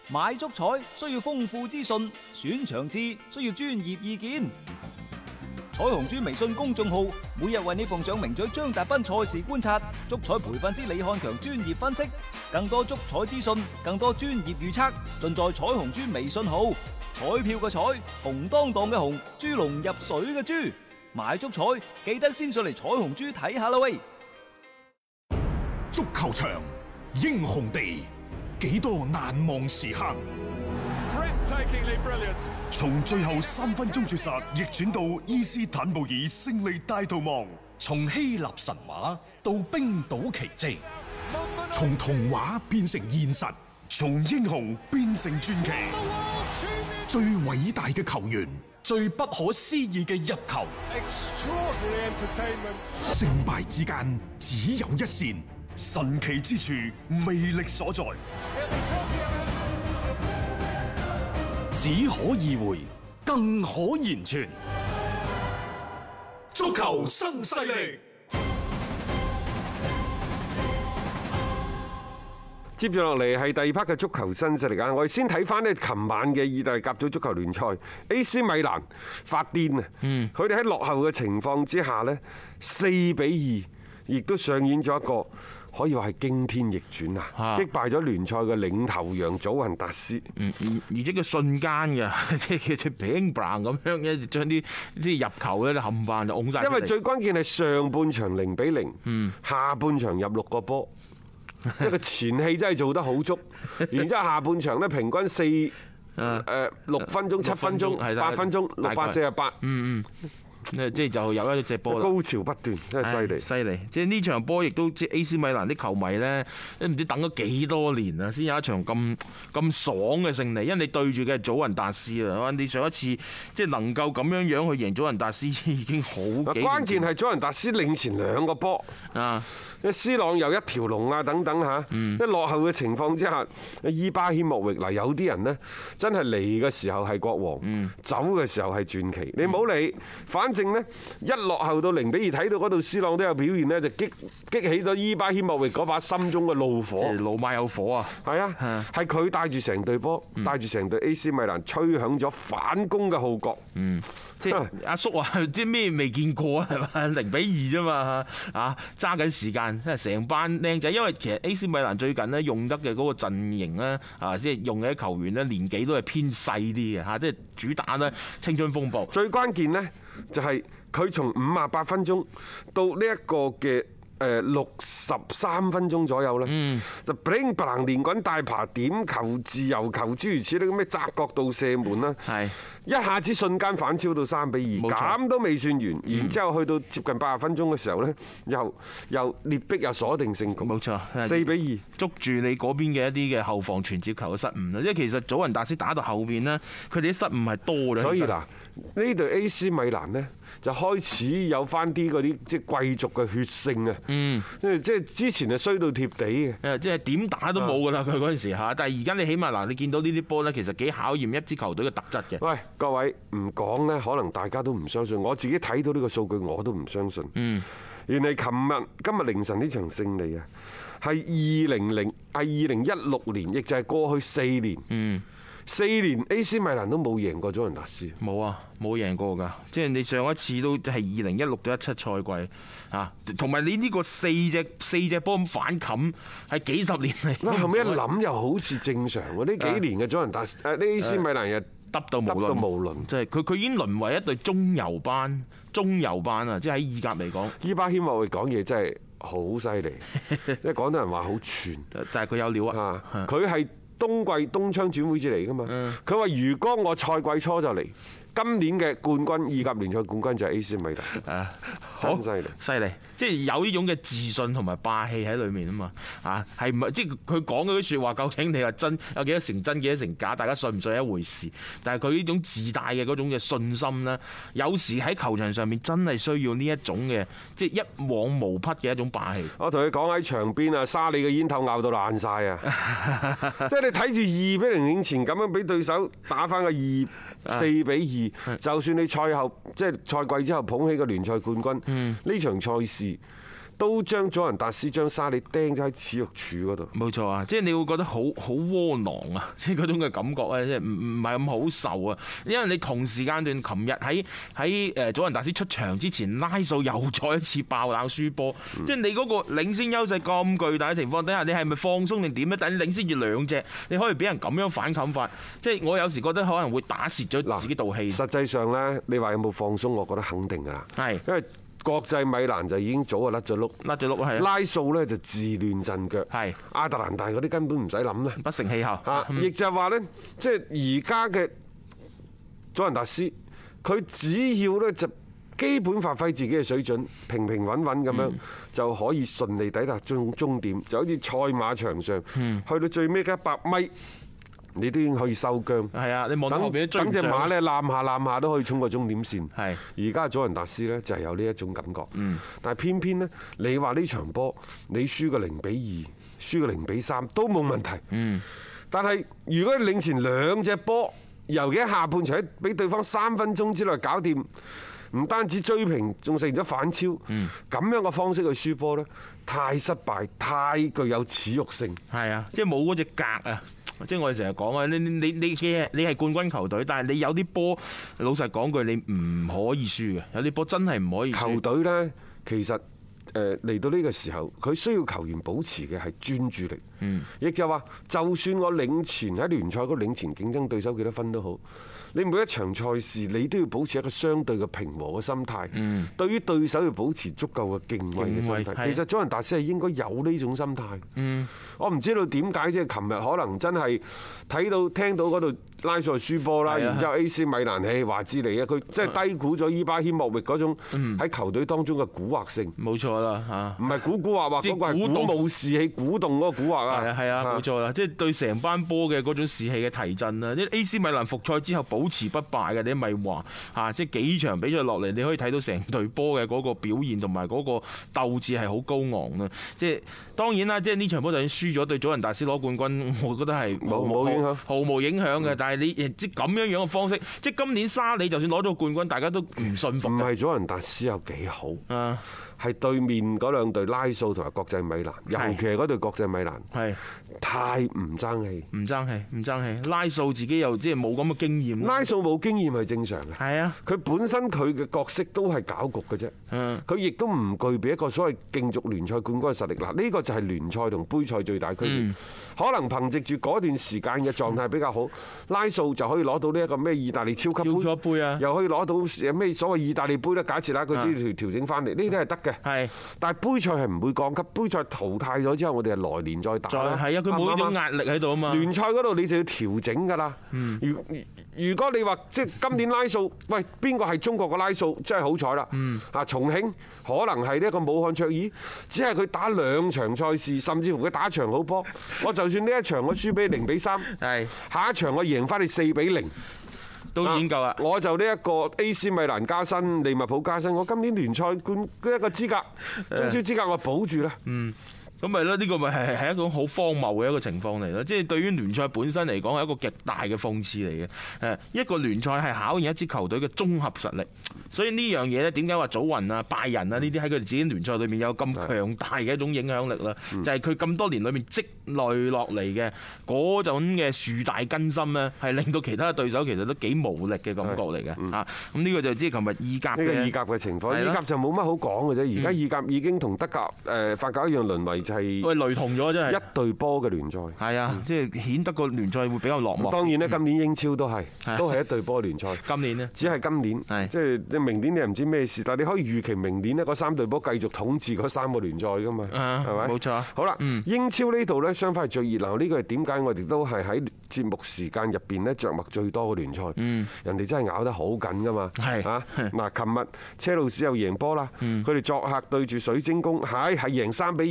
買足彩需要豐富資訊，選場次需要專業意見。彩虹豬微信公眾號每日為你奉上名嘴張達斌賽事觀察、足彩培訓師李漢強專業分析，更多足彩資訊、更多專業預測，盡在彩虹豬微信號。彩票嘅彩，紅當當嘅紅，豬籠入水嘅豬，買足彩記得先上嚟彩虹豬睇下啦喂！ 足球場，英雄地，幾多難忘時刻。從最後3分鐘絕殺逆轉到伊斯坦布爾勝利大逃亡， 從希臘神話到冰島奇蹟， 從童話變成現實，從英雄變成傳奇。最偉大嘅球員， 最不可思議嘅入球， 勝敗之間只有一線，神奇之處魅力所在， 只可意會，更可言傳。 足球新勢力。 接住落嚟係第二 part 嘅足球新勢力啊！我哋先睇翻呢琴晚嘅意大利甲組足球聯賽 ，AC 米蘭發癲啊！佢哋喺落後嘅情況之下呢，4-2，亦都上演咗一個可以話係驚天逆轉啊！擊敗咗聯賽嘅領頭羊祖雲達斯。 而且佢瞬間嘅，即係佢 bang bang 咁樣嘅，將啲入球咧冚唪就拱晒。 因為最關鍵係上半場0-0，下半場入6個波。即係個前戲真係做得好足，然之後下半場咧平均6分鐘、7分鐘、8分鐘648。 即係就有一隻波啦， 高潮不斷，真係犀利， 犀利！即係呢場波亦都即係 AC 米蘭啲球迷咧，都唔知等咗幾多年啊，先有一場咁爽嘅勝利。因為你對住嘅係祖雲達斯啊，你上一次即係能夠咁樣去贏祖雲達斯已經好幾年。 關鍵係祖雲達斯領前2個波啊！C 朗又一條龍啊等等嚇，一落後嘅情況之下，伊巴謙莫域嗱，有啲人呢真係嚟嘅時候係國王，走嘅時候係傳奇。你唔好理，反正呢一落後到0-2，睇到嗰度 C 朗都有表現呢，就激起咗伊巴謙莫域嗰把心中嘅怒火。 老馬有火啊！係啊，係佢帶住成隊波，帶住成隊 AC 米蘭吹響咗反攻嘅號角。 即係阿叔話啲咩未見過啊，係嘛？0-2啫嘛，啊揸緊時間，即係成班靚仔。因為其實 AC 米蘭最近咧用得嘅嗰個陣營咧，啊即係用嘅啲球員咧年紀都係偏細啲嘅嚇，即係主打咧青春風暴。 最關鍵呢就係佢從58分鐘到呢一個嘅63分鐘左右啦，就 bling bling 連滾帶爬點球、自由球諸如此類咁嘅窄角度射門啦，一下子瞬間反超到3-2，咁都未算完，然之後去到接近80分鐘嘅時候呢，又劣逼又鎖定勝局， 冇錯 ，4-2 捉住你嗰邊嘅一啲嘅後防傳接球嘅失誤啦，因為其實祖雲達斯打到後邊呢，佢哋啲失誤係多咗。 所以嗱，呢隊 AC 米蘭呢，就開始有翻啲嗰啲即係貴族嘅血性啊！即係之前係衰到貼地嘅， 即係點打都冇㗎啦！佢嗰陣時嚇，但係而家你起碼嗱，你見到呢啲波呢，其實幾考驗一支球隊嘅特質嘅。 喂，各位唔講呢，可能大家都唔相信。我自己睇到呢個數據，我都唔相信。原來今日凌晨呢場勝利啊，係2016年，亦就係過去4年。4年 AC 米蘭都冇贏過祖雲達斯， 冇啊，冇贏過㗎。即係你上一次都係2016到17賽季啊，同埋你呢個四隻波咁反冚係幾十年嚟。 後尾一諗又好似正常喎，呢幾年嘅祖雲達斯呢 AC 米蘭又得到無論，即係佢已經淪為一隊中游班啊！即係喺意甲嚟講， 伊巴謙莫域講嘢真係好犀利，因為廣東人話好串， 但係佢有料啊！ 佢係冬窗轉會至嚟㗎嘛？佢話如果我賽季初就嚟，今年嘅冠軍意甲聯賽冠軍就係 AC 米蘭，真犀利， 犀利，即係有呢種嘅自信同埋霸氣喺裏面啊嘛！啊，係唔係即係佢講嗰啲説話，究竟你話真有幾多成真，幾多成假？大家信唔信一回事。但係佢呢種自帶嘅嗰種嘅信心咧，有時喺球場上面真係需要呢一種嘅，即係一往無匹嘅一種霸氣。 我同你講喺場邊啊，沙利嘅煙頭咬到爛晒啊！即係你睇住2-0領前咁樣俾對手打翻個4-2。就算你賽後即係賽季之後捧起個聯賽冠軍，呢場賽事都將祖雲達斯將沙利釘咗喺恥辱柱嗰度。 冇錯啊，即係你會覺得好窩囊啊，即係嗰種嘅感覺咧，即係唔係咁好受啊。因為你同時間段，琴日喺祖雲達斯出場之前，拉素又再一次爆冷輸波，即係你嗰個領先優勢咁巨大嘅情況底下，你係咪放鬆定點咧？但係你領先住2隻，你可以俾人咁樣反冚法，即係我有時覺得可能會打蝕咗自己道氣。 實際上呢，你話有冇放鬆？我覺得肯定㗎啦。 係， 因為國際米蘭就已經早就甩咗碌， 係拉素呢就自亂陣腳， 係亞特蘭大嗰啲根本唔使諗啦， 不成氣候。 亦就係話呢，即係而家嘅祖雲達斯，佢只要呢就基本發揮自己嘅水準，平平穩穩咁樣就可以順利抵達終點，就好似賽馬場上，去到最尾嘅100米。你都已經可以收韁。係啊，你望到後邊追唔上。 等隻馬咧攬下都可以衝過終點線。 係。 而家祖雲達斯呢，就係有呢一種感覺。但係偏偏呢，你話呢場波你輸個0-2，輸個0-3都冇問題。但係如果你領前2隻波，尤其喺下半場俾對方3分鐘之內搞掂，唔單止追平，仲成咗反超。咁樣嘅方式去輸波呢，太失敗，太具有恥辱性。 係啊，即係冇嗰隻格啊！即係我哋成日講啊，你係冠軍球隊，但係你有啲波，老實講句，你唔可以輸嘅。有啲波真係唔可以輸。 球隊呢，其實嚟到呢個時候，佢需要球員保持嘅係專注力。亦就話，就算我領前喺聯賽嗰領前競爭對手幾多分都好，你每一場賽事你都要保持一個相對嘅平和嘅心態。對於對手要保持足夠嘅敬畏嘅心態。其實祖雲達斯係應該有呢種心態。我唔知道點解，即係琴日可能真係聽到嗰度拉素輸波啦，然之後 AC 米蘭話之你啊，佢即係低估咗伊巴謙莫域嗰種喺球隊當中嘅蠱惑性。 冇錯啦嚇， 唔係蠱惑，嗰個係鼓舞士氣、鼓動嗰個蠱惑啊。 係啊，冇錯啦，即係對成班波嘅嗰種士氣嘅提振啊！即係 AC 米蘭復賽之後保持不敗嘅，你咪話嚇，即係幾場比賽落嚟，你可以睇到成隊波嘅嗰個表現同埋嗰個鬥志係好高昂啦。即係當然啦，即係呢場波就算輸咗對祖雲達斯攞冠軍，我覺得係冇影響， 毫無影響嘅。但係你即係咁樣嘅方式，即係今年沙里就算攞咗冠軍，大家都唔信服。 唔係祖雲達斯有幾好啊？係對面嗰2隊拉素同埋國際米蘭，尤其係嗰隊國際米蘭，係太唔爭氣，唔爭氣。拉素自己又即係冇咁嘅經驗。拉素冇經驗係正常嘅。係啊，佢本身佢嘅角色都係搞局嘅啫。佢亦都唔具備一個所謂競逐聯賽冠軍嘅實力。嗱，呢個就係聯賽同杯賽最大區別。可能憑藉住嗰段時間嘅狀態比較好，拉素就可以攞到呢一個咩意大利超級杯啊，又可以攞到咩所謂意大利杯咧？假設啦，佢只要調整翻嚟，呢啲係得嘅。係，但係杯賽係唔會降級，杯賽淘汰咗之後，我哋係來年再打。係啊，佢冇呢種壓力喺度啊嘛。聯賽嗰度你就要調整㗎啦。如果你話即係今年拉素，喂，邊個係中國嘅拉素？真係好彩啦。啊，重慶可能係呢一個武漢卓爾，只係佢打2場賽事，甚至乎佢打一場好波，我就算呢一場我輸俾0-3，係下一場我贏翻你4-0。都已經夠啦！我就呢一個 AC 米蘭加薪，利物浦加薪，我今年聯賽冠一個資格，中超資格我保住啦。咁咪咯，呢個咪係一種好荒謬嘅一個情況嚟咯。即係對於聯賽本身嚟講係一個極大嘅諷刺嚟嘅。一個聯賽係考驗一支球隊嘅綜合實力，所以呢樣嘢呢，點解話祖雲啊、拜仁啊呢啲喺佢哋自己聯賽裏面有咁強大嘅一種影響力啦？就係佢咁多年裏面積累落嚟嘅嗰種嘅樹大根深呢，係令到其他對手其實都幾無力嘅感覺嚟嘅。咁呢個就知琴日意甲嘅意甲嘅情況，意甲就冇乜好講嘅啫。而家意甲已經同德甲、法甲一樣淪為係雷同咗，真係一隊波嘅聯賽。係啊，即係顯得個聯賽會比較落寞。當然咧，今年英超都係一隊波聯賽。今年呢，只係今年，即係明年你又唔知咩事，但係你可以預期明年呢嗰3隊波繼續統治嗰3個聯賽㗎嘛，係咪？冇錯。好啦，英超呢度呢，相反係最熱鬧。呢個係點解我哋都係喺節目時間入邊呢著墨最多嘅聯賽。人哋真係咬得好緊㗎嘛。係嚇嗱，琴日車路士又贏波啦。佢哋作客對住水晶宮，係贏3-2，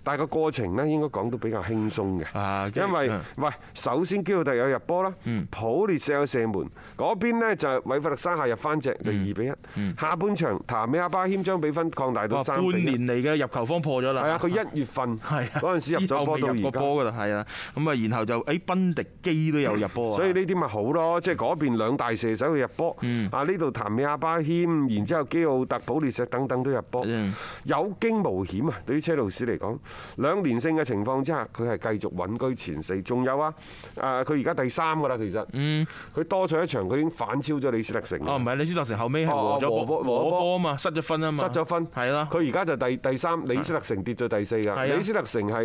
但係個過程呢應該講都比較輕鬆嘅，因為嗯喂，首先基奧特有入波啦，普列石有射門，嗰邊呢就韋弗特山下入翻隻就2-1。下半場譚美阿巴謙將比分擴大到半 3-1。 年嚟嘅入球方破咗啦。 係啊，佢1月份嗰陣時入咗波到而家。 之後未入過波㗎啦，係啊。咁啊，然後就賓迪基都有入波啊。 所以呢啲咪好咯，即係嗰邊兩大射手去入波，啊呢度譚美阿巴謙，然之後基奧特、普列石等等都入波，有驚無險啊！對於車路士嚟講，2連勝嘅情況之下，佢係繼續穩居前4。仲有啊，佢而家第3㗎啦，其實，佢多賽一場，佢已經反超咗李斯特城。 哦，唔係李斯特城後尾係和波啊嘛，失咗分啊嘛。 失咗分， 係啦。 佢而家就第3，李斯特城跌咗第4㗎。李斯特城係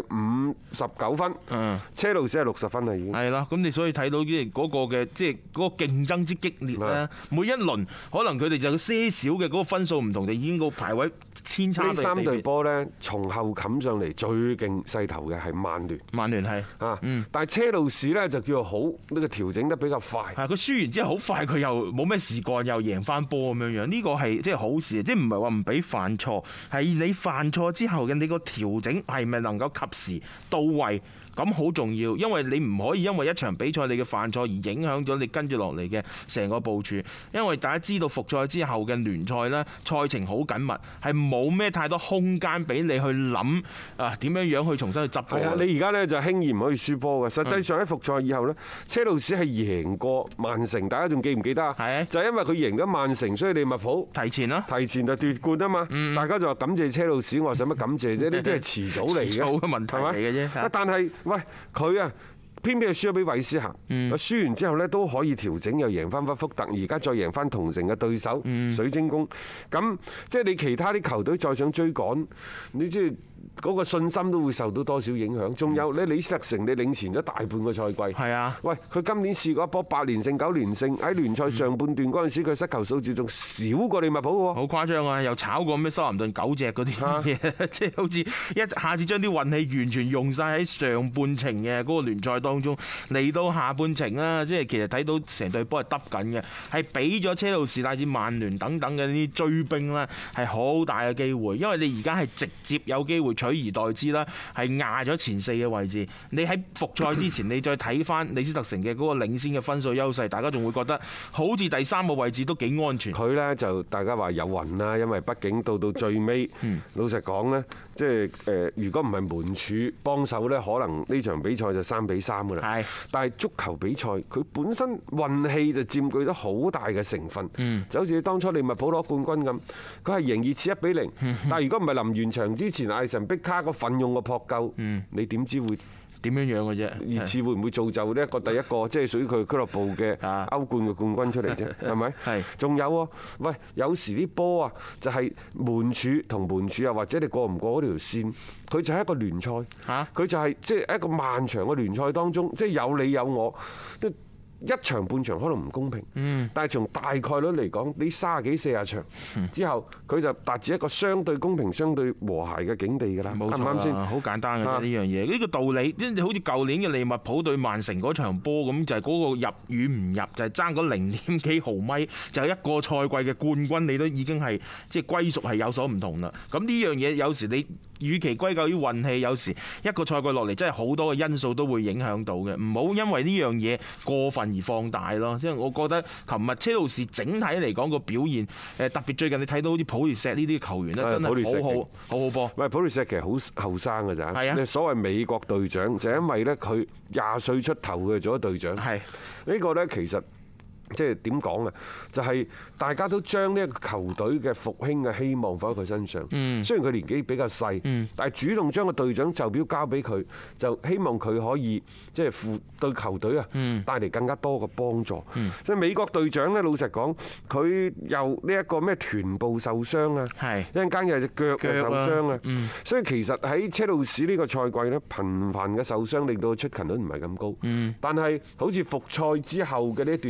59分，車路士係60分啦已經。 係啦，咁你所以睇到即係嗰個嘅即係嗰個競爭之激烈咧，每一輪可能佢哋就有些少嘅嗰個分數唔同，就已經個排位千差地別。 呢3隊波呢，從後冚上嚟最勁勢頭嘅係曼聯。 曼聯係啊，但係車路士呢，就叫做好，呢個調整得比較快。 係佢輸完之後好快，佢又冇咩事幹，又贏翻波咁樣樣。呢個係即係好事，即係唔係話唔俾犯錯，係你犯錯之後嘅你個調整係咪能夠及時到位？咁好重要，因為你唔可以因為一場比賽你嘅犯錯而影響咗你跟住落嚟嘅成個部署。因為大家知道復賽之後嘅聯賽呢，賽程好緊密，係冇咩太多空間俾你去諗啊點樣樣去重新去執波。 係啊，你而家呢就輕易唔可以輸波嘅。實際上喺復賽以後呢，車路士係贏過曼城，大家仲記唔記得啊？ 係就係因為佢贏咗曼城，所以利物浦提前啦， 提前就奪冠啊嘛。大家就話感謝車路士，我話使乜感謝啫？呢啲係遲早嚟嘅， 遲早嘅問題嚟嘅啫。 但係喂，佢啊偏偏係輸咗俾韋斯咸，輸完之後呢都可以調整，又贏翻屈福特，而家再贏翻同城嘅對手水晶宮。咁即係你其他啲球隊再想追趕，你即係嗰個信心都會受到多少影響？仲有你李斯特城，你領前咗大半個賽季。 係啊， 喂，佢今年試過一波8連勝、9連勝，喺聯賽上半段嗰陣時，佢失球數字仲少過利物浦喎。 好誇張啊！又炒過咩修林頓9隻嗰啲嘢，即係好似一下子將啲運氣完全用晒喺上半程嘅嗰個聯賽當中，嚟到下半程啦，即係其實睇到成隊波係得緊嘅，係俾咗車路士乃至曼聯等等嘅呢啲追兵啦，係好大嘅機會，因為你而家係直接有機會取而代之啦，係壓咗前4嘅位置。你喺復賽之前，你再睇翻李斯特城嘅嗰個領先嘅分數優勢，大家仲會覺得好似第3個位置都幾安全。 佢呢就大家話有運啦，因為畢竟到最尾，老實講呢，即係如果唔係門柱幫手呢，可能呢場比賽就3-3㗎啦。係，但係足球比賽佢本身運氣就佔據咗好大嘅成分。就好似當初利物浦攞冠軍咁，佢係贏熱刺1-0，但係如果唔係臨完場之前，艾神碧卡個奮勇個撲救，你點知會點樣樣嘅啫？ 熱刺會唔會造就呢一個第一個即係屬於佢俱樂部嘅歐冠嘅冠軍出嚟啫？係咪？係。仲有喎，喂，有時啲波啊，就係門柱同門柱啊，或者你過唔過嗰條線，佢就係一個聯賽嚇，佢就係即係一個漫長嘅聯賽當中，即係有你有我。一場半場可能唔公平，但係從大概率嚟講，你30幾40場之後，佢就達至一個相對公平、相對和諧嘅境地㗎啦。啱唔啱先？ 好簡單嘅啫，呢樣嘢，呢個道理，好似舊年嘅利物浦對曼城嗰場波咁，就係嗰個入與唔入，就係爭嗰0點幾毫米，就係一個賽季嘅冠軍，你都已經係即係歸屬係有所唔同啦。咁呢樣嘢有時你與其歸咎於運氣，有時一個賽季落嚟真係好多嘅因素都會影響到嘅，唔好因為呢樣嘢過分而放大咯，即係我覺得琴日車路士整體嚟講個表現，特別最近你睇到好似普列石呢啲球員咧，真係好好波。喂， 普列石其實好後生㗎咋？係啊，所謂美國隊長就係因為咧佢20歲出頭嘅做咗隊長。係呢個咧其實。即係點講啊？就係大家都將呢一個球隊嘅復興嘅希望放喺佢身上。雖然佢年紀比較細，但係主動將個隊長袖標交俾佢，就希望佢可以即係對球隊啊帶嚟更加多嘅幫助。即係美國隊長呢，老實講，佢又呢一個咩臀部受傷啊，一陣間又隻腳又受傷啊。所以其實喺車路士呢個賽季呢，頻繁嘅受傷令到出勤率唔係咁高。但係好似復賽之後嘅呢一段時間，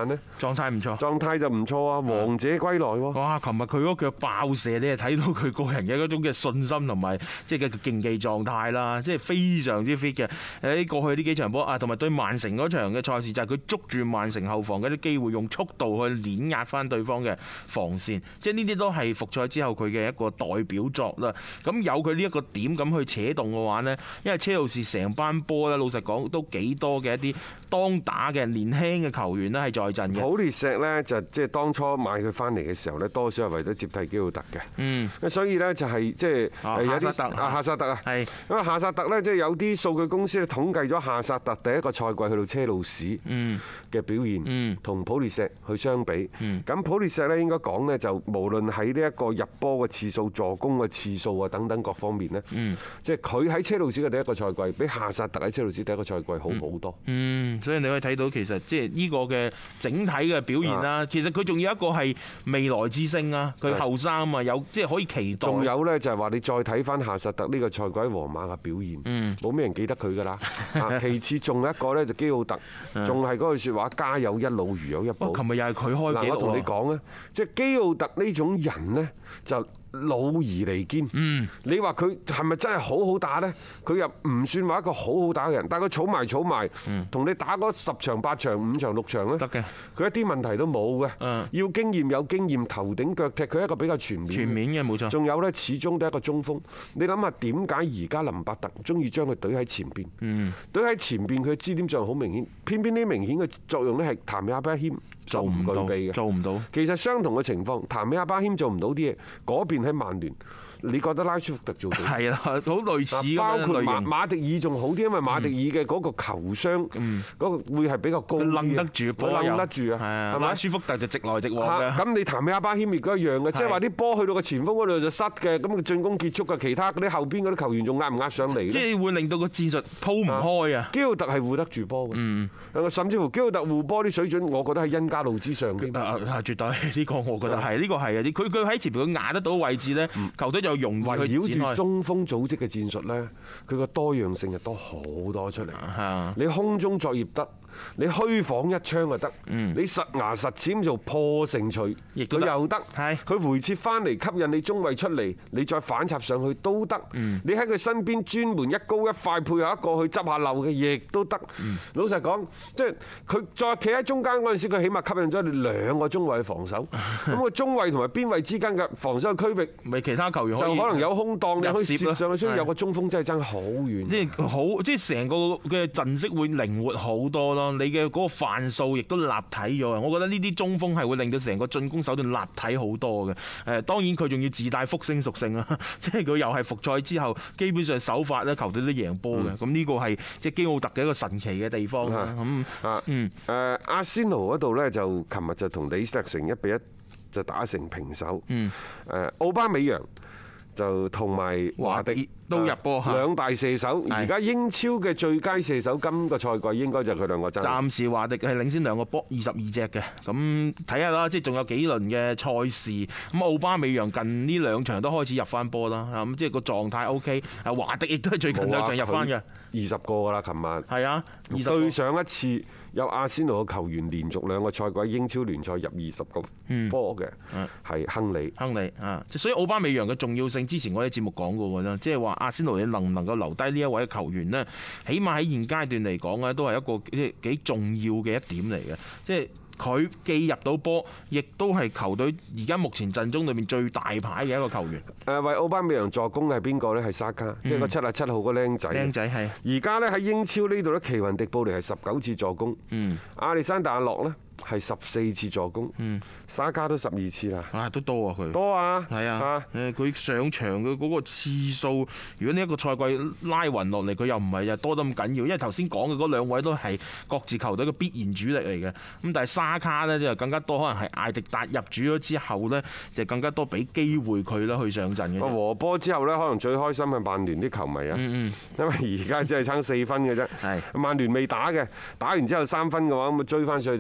呢？ 狀態唔錯。 狀態就唔錯啊，王者歸來喎。 哇！琴日佢嗰腳爆射，你係睇到佢個人嘅嗰種嘅信心同埋即係嘅競技狀態啦，即係非常之 fit 嘅。喺過去呢幾場波啊，同埋對曼城嗰場嘅賽事就係佢捉住曼城後防嘅啲機會，用速度去碾壓翻對方嘅防線，即係呢啲都係復賽之後佢嘅一個代表作啦。咁有佢呢一個點咁去扯動嘅話呢，因為車路士成班波咧，老實講都幾多嘅一啲當打嘅年輕嘅球員咧係在陣嘅。 普列石呢，就即係當初買佢翻嚟嘅時候呢，多少係為咗接替基奧特嘅。 嗯， 所以呢，就係即係有啲夏薩特啊， 係因為夏薩特呢，即係有啲數據公司咧統計咗夏薩特第一個賽季去到車路士嘅表現，同普列石去相比。咁普列石呢，應該講呢，就無論喺呢一個入波嘅次數、助攻嘅次數啊等等各方面呢，即係佢喺車路士嘅第一個賽季比夏薩特喺車路士第一個賽季好好多。 所以你可以睇到其實即係呢個嘅整體嘅表現啦。其實佢仲有一個係未來之星啊，佢後生啊嘛，有即係可以期待。 仲有呢，就係話你再睇翻夏薩特呢個賽季喺皇馬嘅表現，冇咩人記得佢㗎啦。其次仲有一個呢，就基奧特，仲係嗰句説話，家有一老如有一寶。 琴日又係佢開紀錄。 我同你講咧，即係基奧特呢種人呢，就老而彌堅。你話佢係咪真係好好打呢？佢又唔算話一個好好打嘅人，但係佢儲埋，同你打嗰10場8場5場6場咧， 得嘅。 佢一啲問題都冇嘅。要經驗有經驗，頭頂腳踢，佢係一個比較全面嘅冇錯。 仲有呢，始終都係一個中鋒。你諗下點解而家林伯特中意將佢隊喺前邊？隊喺前邊佢嘅支點作用好明顯，偏偏呢明顯嘅作用呢係譚美阿巴謙做唔具備嘅。 做唔到。 其實相同嘅情況，譚美阿巴謙做唔到啲嘢，嗰邊喺曼聯，你覺得拉舒福特做到？ 係啊，好類似嘅。 包括馬迪爾仲好啲，因為馬迪爾嘅嗰個球商嗰個會係比較高啲， 佢掕得住波， 掕得住啊，係咪？ 拉舒福特就直來直往嘅。 咁你譚美阿巴謙亦都一樣嘅，即係話啲波去到個前鋒嗰度就失嘅，咁佢進攻結束嘅，其他嗰啲後邊嗰啲球員仲壓唔壓上嚟？ 即係會令到個戰術鋪唔開啊！ 基奧特係護得住波嘅，甚至乎基奧特護波啲水準，我覺得係恩加路之上添。 絕對呢個我覺得係，呢個係啊！佢喺前邊佢壓得到位置咧，球隊就容易去圍繞住中鋒組織嘅戰術咧，佢個多樣性就多好多出嚟。你空中作業得，你虛晃一槍就得，你實牙實齒做破城錘，佢又得。佢回撤翻嚟吸引你中衞出嚟，你再反插上去都得。你喺佢身邊專門一高一快配合一個去執下漏嘅，亦都得。老實講，即係佢再企喺中間嗰陣時，佢起碼吸引咗你2個中衞去防守。咁個中衞同埋邊衞之間嘅防守區域， 咪其他球員就可能有空檔，你可以攝上去，所以有個中鋒真係爭好遠。 即係成個嘅陣式會靈活好多咯。你嘅嗰個範數亦都立體咗啊！我覺得呢啲中鋒係會令到成個進攻手段立體好多嘅。當然佢仲要自帶復星屬性啦，即係佢又係復賽之後，基本上手法咧球隊都贏波嘅。咁呢個係即係基奧特嘅一個神奇嘅地方啦。 阿仙奴嗰度呢，就琴日就同李斯特城1-1就打成平手。奧巴美揚就同埋華迪都入波， 兩大射手。而家英超嘅最佳射手今個賽季應該就係佢兩個爭。 暫時華迪係領先2個波22隻嘅，咁睇下啦，即係仲有幾輪嘅賽事。咁奧巴美揚近呢2場都開始入翻波啦，咁即係個狀態 OK。啊，華迪亦都係最近2場入翻嘅 ，20個㗎啦，琴晚。 係啊， 對上一次有阿仙奴嘅球員連續2個賽季英超聯賽入20個波嘅，係亨利。 啊，所以奧巴美揚嘅重要性，之前我喺節目講過㗎啦，即係話阿仙奴你能唔能夠留低呢一位球員呢？起碼喺現階段嚟講咧，都係一個幾重要嘅一點嚟嘅，即係佢既入到波，亦都係球隊而家目前陣中裏面最大牌嘅一個球員。 為奧巴美揚助攻嘅係邊個呢？係沙卡，即係個77號個僆仔。 僆仔係。而家呢喺英超呢度呢，奇雲迪布尼係19次助攻，亞歷山大阿諾呢係14次助攻，沙卡都12次啦。 都多啊佢。多啊。係啊。佢上場嘅嗰個次數，如果呢一個賽季拉勻落嚟，佢又唔係又多得咁緊要，因為頭先講嘅嗰2位都係各自球隊嘅必然主力嚟嘅。咁但係沙卡呢，就更加多，可能係艾迪達入主咗之後呢，就更加多俾機會佢啦去上陣嘅。和波之後呢，可能最開心係曼聯啲球迷啊，因為而家只係差4分嘅啫。曼聯未打嘅，打完之後3分嘅話，咁追翻上去就差1分。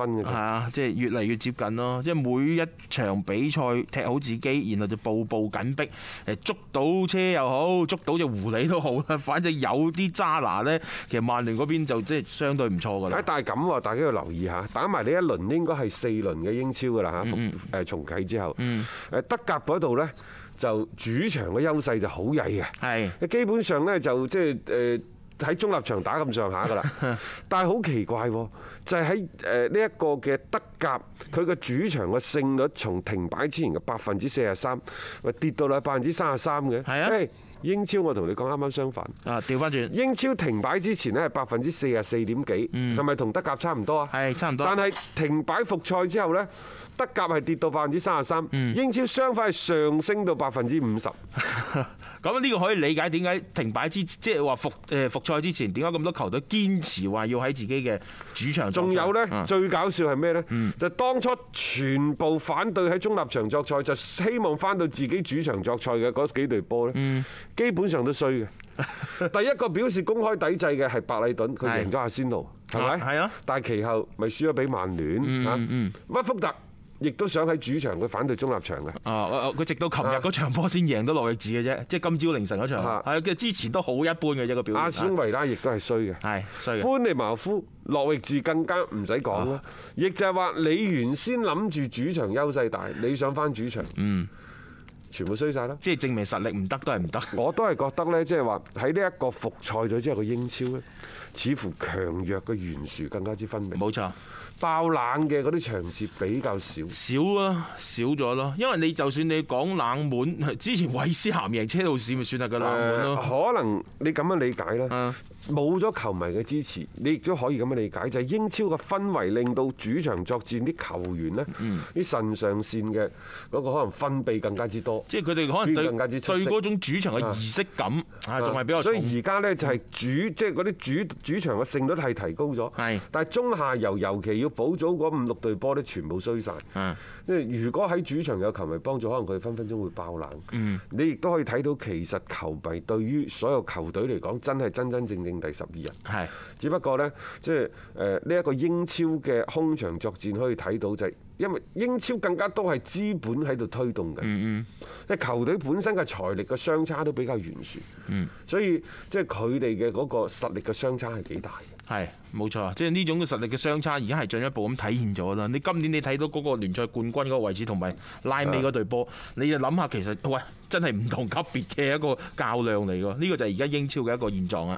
分嘅啫。 係啊，即係越嚟越接近咯。即係每一場比賽踢好自己，然後就步步緊逼，捉到車又好，捉到隻狐狸都好啦。反正有啲渣拿呢，其實曼聯嗰邊就即係相對唔錯㗎啦。 但係咁喎，大家要留意下，打埋呢一輪應該係4輪嘅英超㗎啦嚇，重啟之後，德甲嗰度呢，就主場嘅優勢就好曳嘅， 係基本上呢，就即係喺中立場打咁上下㗎啦。但係好奇怪喎，就係喺呢一個嘅德甲，佢嘅主場嘅勝率從停擺之前嘅43%，跌到啦33%嘅。 係啊。 英超我同你講啱啱相反。 啊，調翻轉。 英超停擺之前呢係44.幾%，係咪同德甲差唔多啊？ 係差唔多。 但係停擺復賽之後呢，德甲係跌到33%，英超相反係上升到50%。 咁呢個可以理解點解停擺即係話復賽之前點解咁多球隊堅持話要喺自己嘅主場作賽。仲有呢，最搞笑係咩呢？就當初全部反對喺中立場作賽，就希望翻到自己主場作賽嘅嗰幾隊波呢，基本上都衰嘅。第一個表示公開抵制嘅係白禮頓，佢贏咗阿仙奴，係咪？係啊。但係其後咪輸咗俾曼聯嚇。屈福特亦都想喺主場，佢反對中立場嘅。佢直到琴日嗰場波先贏到諾域治嘅啫，即係今朝凌晨嗰場。係嘅，之前都好一般嘅一個表現。阿斯維拉亦都係衰嘅。係衰嘅。般尼茅夫、諾域治更加唔使講啦。亦就係話你原先諗住主場優勢大，你想翻主場。全部衰晒啦！即係證明實力唔得都係唔得。我都係覺得呢，即係話喺呢一個復賽咗之後嘅英超呢，似乎強弱嘅懸殊更加之分明。冇錯，爆冷嘅嗰啲場次比較少。少咗咯。因為你就算你講冷門，之前韋斯咸贏車路士咪算係個冷門咯。可能你咁樣理解啦。冇咗球迷嘅支持，你亦都可以咁樣理解，就係英超嘅氛圍令到主場作戰啲球員呢，啲腎上腺嘅嗰個可能分泌更加之多。即係佢哋可能對嗰種主場嘅儀式感仲係比較重。所以而家呢，就係即係嗰啲主場嘅勝率係提高咗。係，但係中下游尤其要補組嗰5、6隊波呢，全部衰晒。即係如果喺主場有球迷幫助，可能佢哋分分鐘會爆冷。你亦都可以睇到，其實球迷對於所有球隊嚟講，真係真真正正第12人。係，只不過呢，即係呢一個英超嘅空場作戰可以睇到，就係因為英超更加多係資本喺度推動嘅。即係球隊本身嘅財力嘅相差都比較懸殊。所以即係佢哋嘅嗰個實力嘅相差係幾大。係，冇錯，即係呢種嘅實力嘅相差，而家係進一步咁體現咗啦。你今年你睇到嗰個聯賽冠軍嗰個位置同埋拉尾嗰隊波，你就諗下其實喂，真係唔同級別嘅一個較量嚟㗎。呢個就係而家英超嘅一個現狀啊！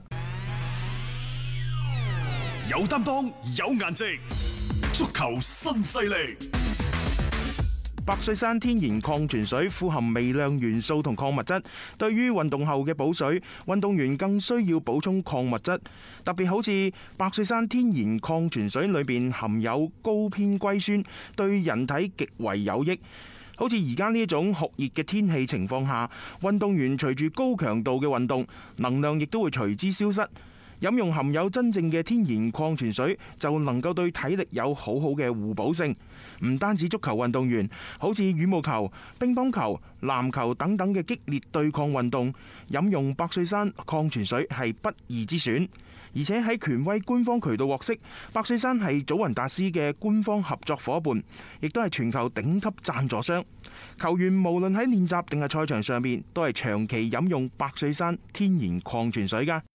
有擔當，有顏值，足球新勢力。 百歲山天然礦泉水富含微量元素同礦物質，對於運動後嘅補水，運動員更需要補充礦物質。特別好似百歲山天然礦泉水裏邊含有高偏硅酸，對人體極為有益。好似而家呢一種酷熱嘅天氣情況下，運動員隨住高強度嘅運動，能量亦都會隨之消失。飲用含有真正嘅天然礦泉水，就能夠對體力有好好嘅互補性。唔單止足球運動員，好似羽毛球、乒乓球、籃球等等嘅激烈對抗運動，飲用百歲山礦泉水係不二之選。而且喺權威官方渠道獲悉，百歲山係祖雲達斯嘅官方合作夥伴，亦都係全球頂級贊助商。球員無論喺練習定係賽場上面，都係長期飲用百歲山天然礦泉水㗎。